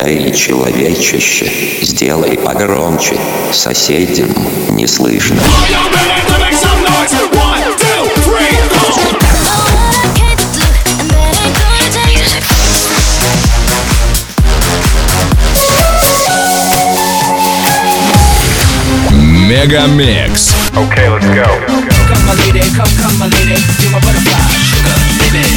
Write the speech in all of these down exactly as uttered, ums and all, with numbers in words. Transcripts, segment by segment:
Эй, человечище, сделай погромче, соседям не слышно. Мегамикс. Okay, let's go. Come my lady, come, come my lady, you're my butterfly, sugar, baby.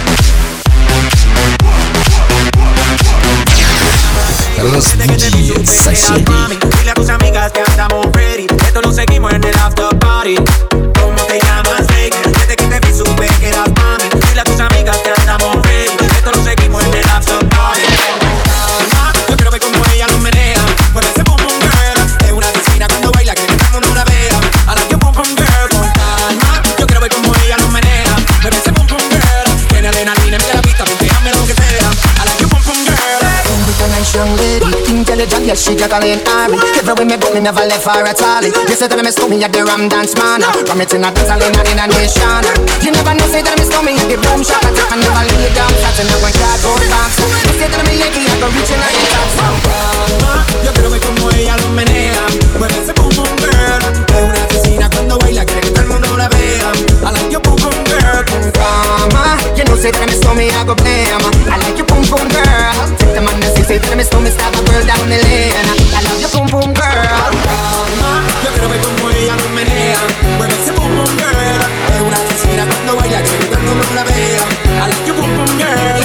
Разбуди соседей. Dile a tus amigas que andamos ready. Esto lo seguimos en el after party. ¿Cómo te llamas, baby? Desde que te vi supe que eras mami. Dile a tus amigas que andamos ready. Esto lo seguimos en el after party. Yo quiero ver cómo ella lo menea. Mueve ese pum pum girl. Es una asesina cuando baila, que todo el mundo la vea. I like your pum pum girl. Con calma. Yo quiero ver cómo ella lo menea. Mueve ese pum pum girl. Tiene adrenalina en la pista, déjame lo que sea. I like your pum pum girl. Young lady, intelligent, yes, she juggling Ari. Every way me book, me never left for a tally. You say that me stole me at the Ram Dance Man. From it in a dance, I in a nation. You never know, say that me stole me at the boom shop. I take and never lay down, flat in the one cardboard box. You say that me Yankee, I go reaching out the top. Yo quiero ver cómo ella lo menea. Mueve ese pum pum girl. Es una asesina cuando baila, quiere que todo el mundo la vea. I like your pum pum girl. Mama, you know, say that me stole me, I go blame. I like your pum pum girl. Take the man that say that me stole me, stab a girl down the lane. I love your pum pum girl. Yo quiero ver cómo ella lo menea. Mueve ese pum pum girl. Es una asesina cuando baila, quiere que todo el mundo la vea. I like your pum pum girl.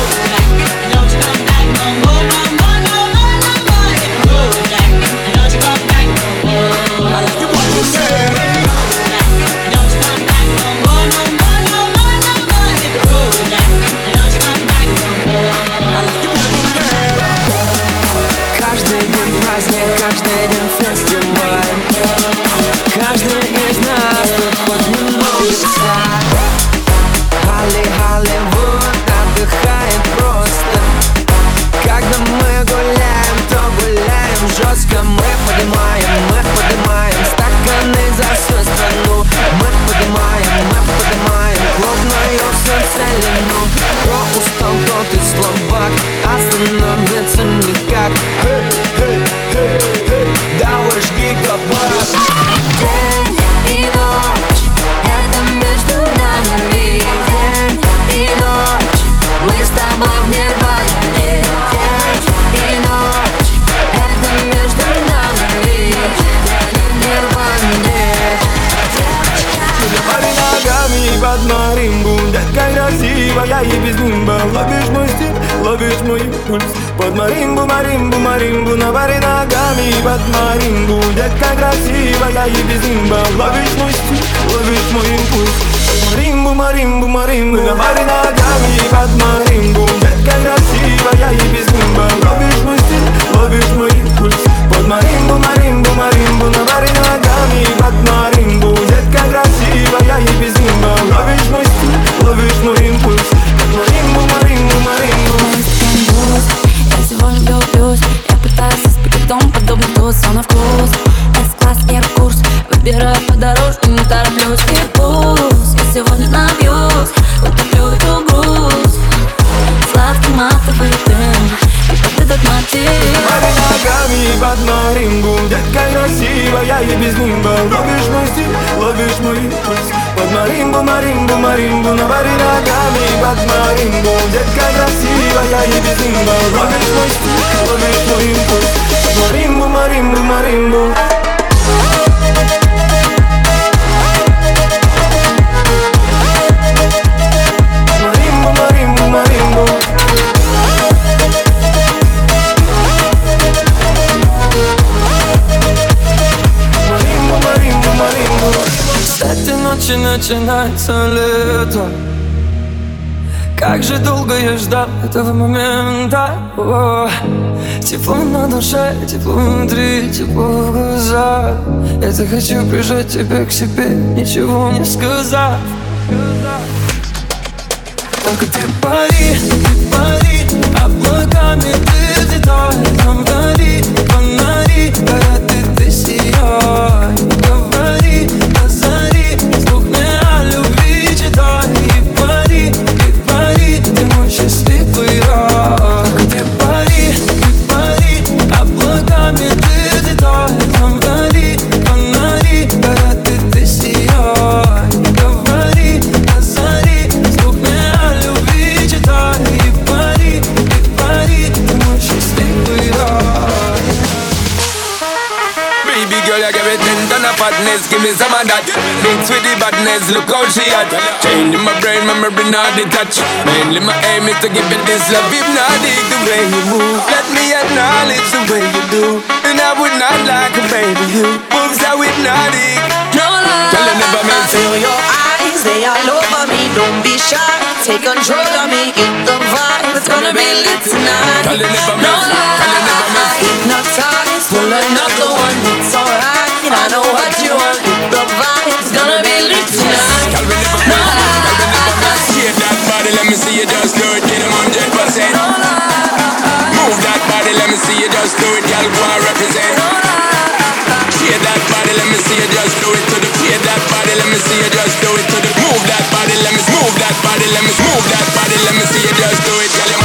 Каждый день праздник, каждый день фестиваль. Каждый из нас тут поднимается. Холли, Холливуд отдыхает просто. Когда мы гуляем, то гуляем жестко. Мы поднимаем, мы поднимаем стаканы за всю страну. Мы поднимаем, мы поднимаем клубную всю целину. Кто устал, тот и слабак, остановиться никак. Давай жги кабак. День и ночь, это между нами. День и ночь, мы с тобой в нирване. День и ночь, это между нами. День в нирване. Пари ногами под маримбу, детка красивая и без нимба. Ловишь мой стиль, ловишь мой пульс. Под маримбу, маримбу, маримбу. На пари ногами под маримбу, детка красивая и без нимба. Ловишь мой стиль, ловишь мой импульс. Маримбу, маримбу, маримбу. На пари ногами под маримбу, детка красивая и без нимба. Ловишь мой стиль, ловишь мой импульс. Под маримбу, маримбу, маримбу. На пари ногами под маримбу, детка красивая и без нимба. Ловишь мой стиль, ловишь мой импульс. Под маримбу, маримбу, маримбу. Я сегодня влюблюсь. Я пытаюсь испекать дом, подобный туз, все на вкус. С-класс, эйр-курс, выбираю подороже, не тороплюсь. И пусть я сегодня набьюсь, утоплю эту грусть. Сладкий матовый дым, и под этот мотив. Пари ногами под маримбу, детка красивая и без нимба. Ловишь мой стиль, ловишь мой импульс. Под маримбу, маримбу, маримбу. На пари ногами под маримбу, детка красивая и без нимба. Ловишь мой стиль, ловишь мой импульс. Под маримбу, маримбу, маримбу. Маримбу, маримбу, маримбу. Маримбу, маримбу, маримбу. С этой ночи начинается лето. Как же долго я ждал этого момента. О, тепло на душе, тепло внутри, тепло в глазах. Я так хочу прижать тебя к себе, ничего не сказав. Только ты пари, ты пари, облаками ты взлетай. Там вдали фонари, горят и ты сияй. Говори, позари, вслух мне о любви читай. И пари, и пари, ты мой счастливый рай. Ты пари, ты give me some of that. Mix with the badness, look how she at. Changing my brain, memory not detached. Mainly my aim is to give it this love. If not dig the way you move, let me acknowledge the way you do. And I would not like a baby you. Moves that with not dig. No lie, tell her never miss. feel your eyes, they all over me. Don't be shy, take control of me. Get the vibe, it's gonna be lit tonight. Tell her never No miss. lie, Tell her never miss. hypnotize, pull another one. It's alright, I know what you want. Get the vibe, it's gonna be lit tonight. Tell me never No miss. lie, Tell me never miss. Shake that body, let me see you just do it. Get 'em one hundred percent. no lie, Move that body, let me see you just do it. Y'all go and represent. no lie. Shake that body, let me see you just do it to the. Shake that body, let me see you just do it to the. Move that body, let me move that body, let me move that body, let me see you just do it. Tell 'em.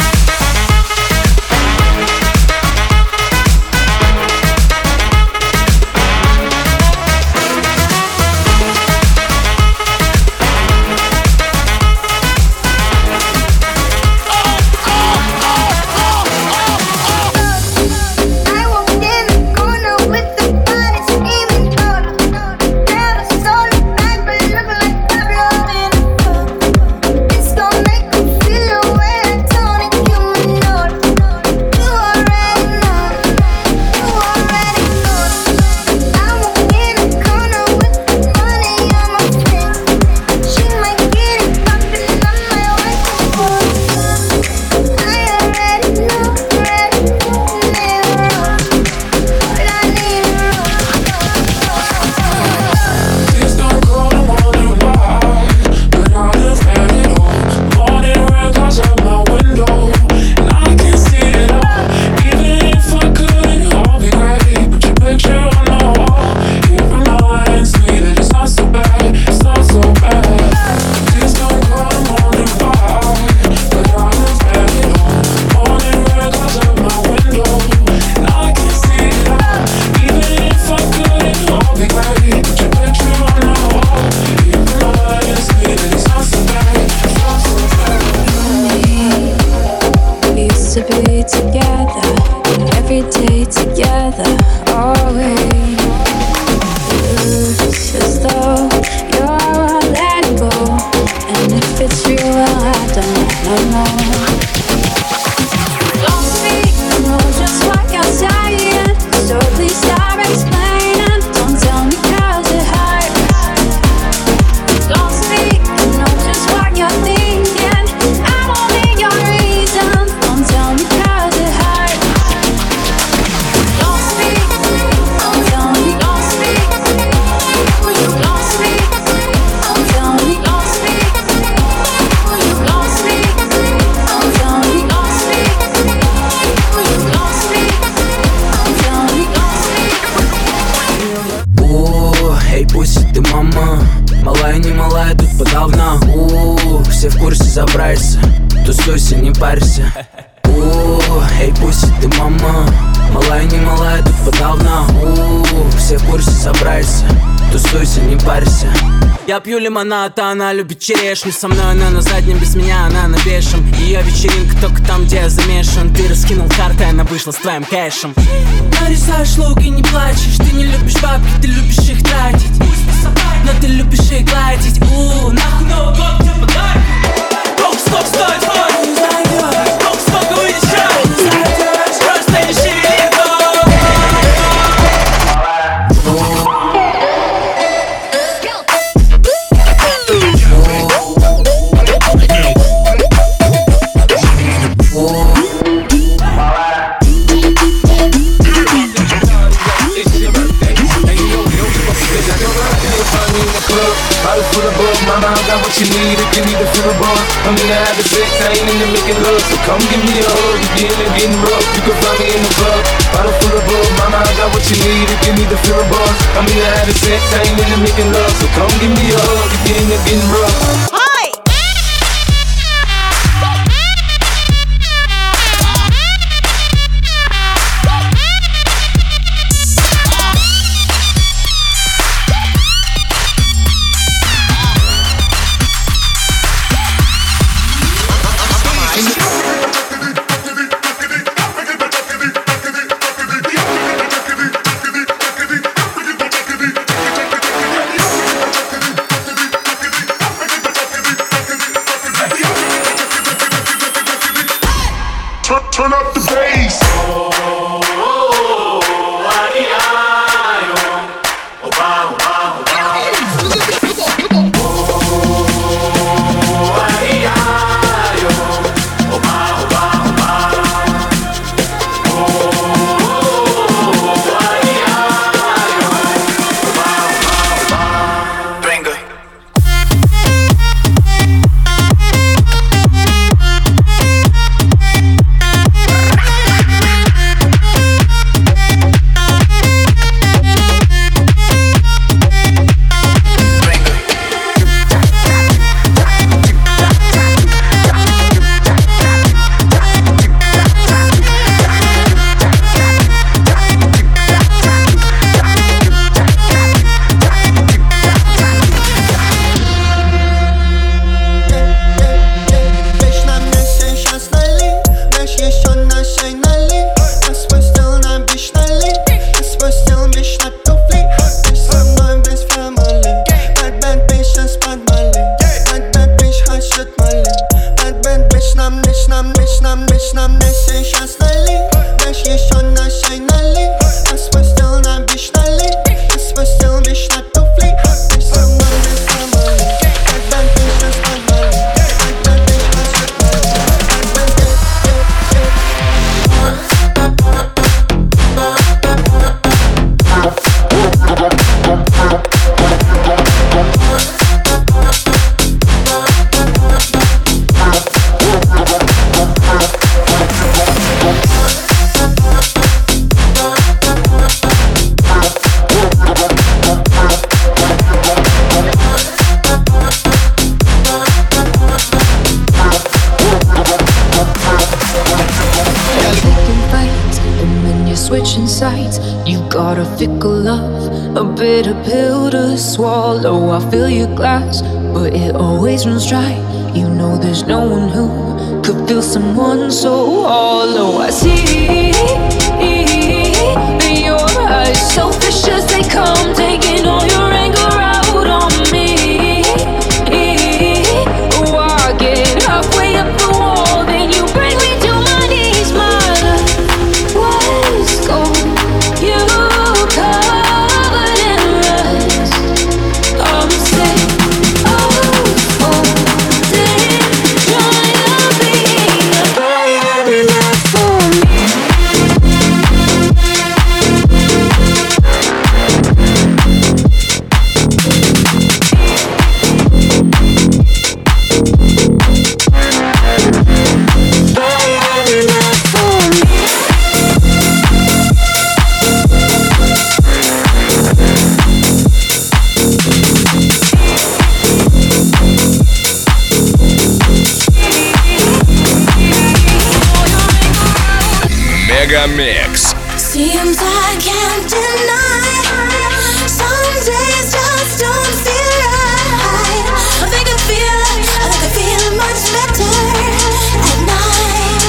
Тусуйся, не парься. О, эй, пусть ты мама. Малая, не малая, тут подавно. О, все в курсе, собрайся. Тусуйся, не парься. Я пью лимонад, а она любит черешню. Со мной она на заднем, без меня она на бешем. Ее вечеринка только там, где я замешан. Ты раскинул карты, она вышла с твоим кэшем. Нарисаешь лук и не плачешь. Ты не любишь бабки, ты любишь их тратить. Но ты любишь их гладить. У, нахуй Новый год тебе подарок. Бог, стоп, стой, твой не зайдешь. Бог, сколько выезжай, не зайдешь. Просто не шевели ног. Mama, I got what you need to give me the feel of buzz. I'm in the having sex, I ain't into making love. So come give me a hug, if you're into getting rough, you can find me in the club. Bottle full of buzz, mama, I got what you need to give me the feel of buzz. I'm in the having sex, I ain't into making love. So come give me a hug, if you're into getting rough. switching sides. You got a fickle love, a bitter pill to swallow. I fill your glass, but it always runs dry. You know there's no one who could feel someone so hollow. I see your eyes, selfish as they come, taking all your anger out on me. Oh, I get halfway up the wall, then you bring me to my knees. My love was gone, you covered in rust. I'm sick of holding, trying to be a bad enough for me. Мегамикс. Seems I can't deny, some days just don't feel right. I think I feel, I think I feel much better at night.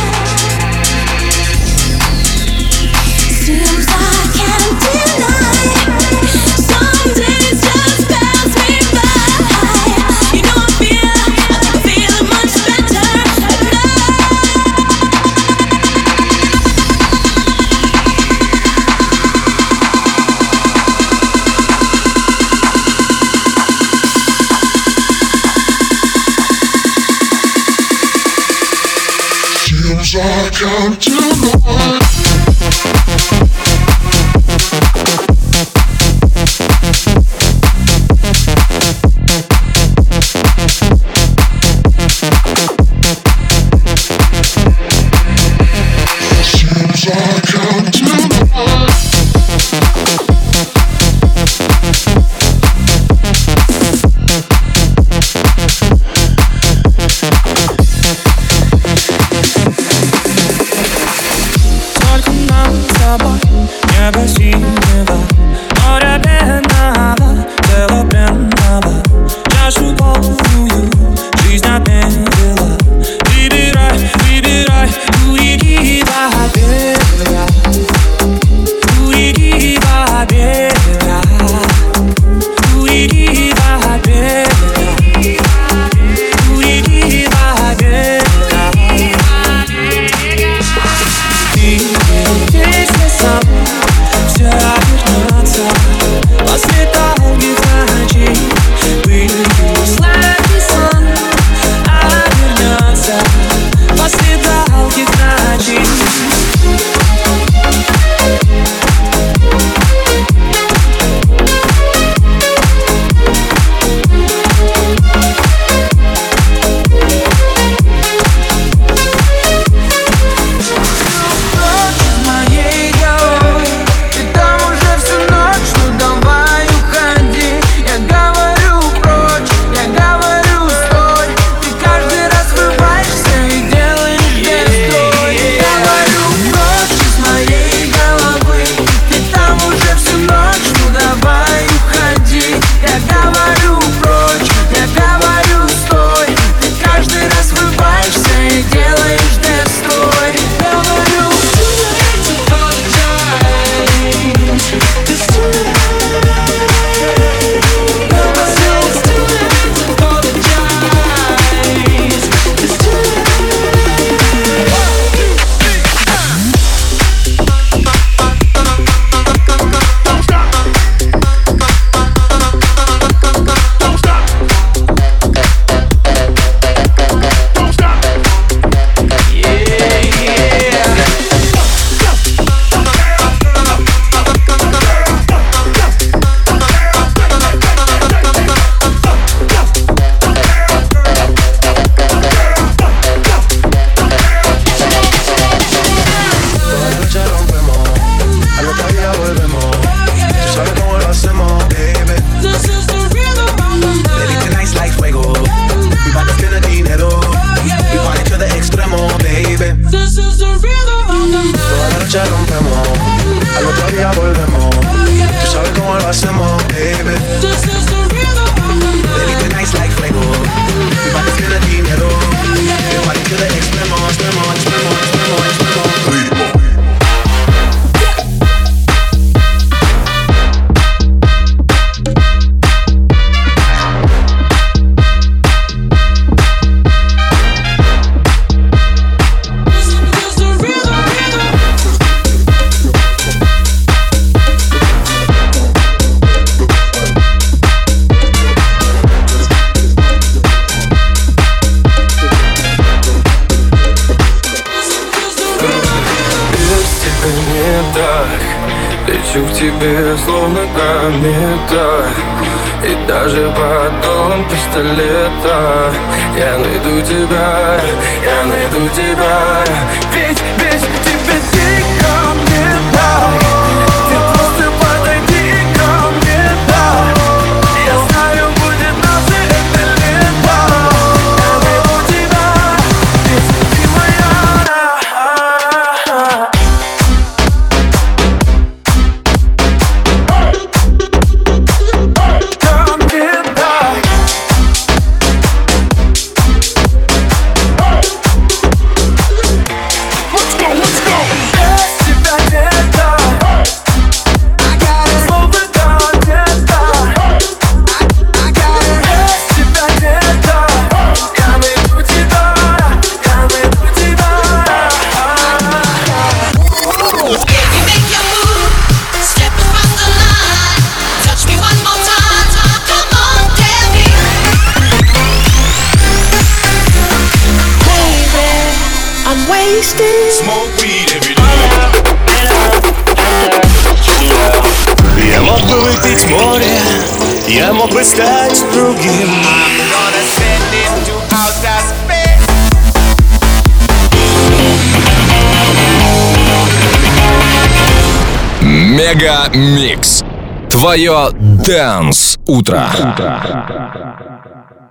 Seems I can't deny, some days just pass me by. You know I feel, I think I feel much better at night. Seems I can't deny. Seems I can't deny. Только нам с тобой небо синего, море пенного, тело пенного, чашу полную жизнь отмерила. Выбирай, выбирай, уйди во берега, уйди во берега, уйди во берега, уйди во берега. Ты noche rompemos, al otro día volvemos. Tú sabes cómo lo hacemos, baby. Baby, tonight's like fuego. Mi body tiene dinero. Mi body tiene extremo, extremo, extremo, extremo, extremo. Ritmo. Лечу к тебе, словно комета, и даже под дулом пистолета я найду тебя, я найду тебя. Ведь, ведь тебе ты ко мне, да. Ты просто подойди ко мне, да. Я знаю, будет наше это лето. Я найду тебя, ведь ты моя, да. Smoke weed every day. Я мог бы выпить море, я мог бы стать другим. Мега Микс. Твое Dance утро.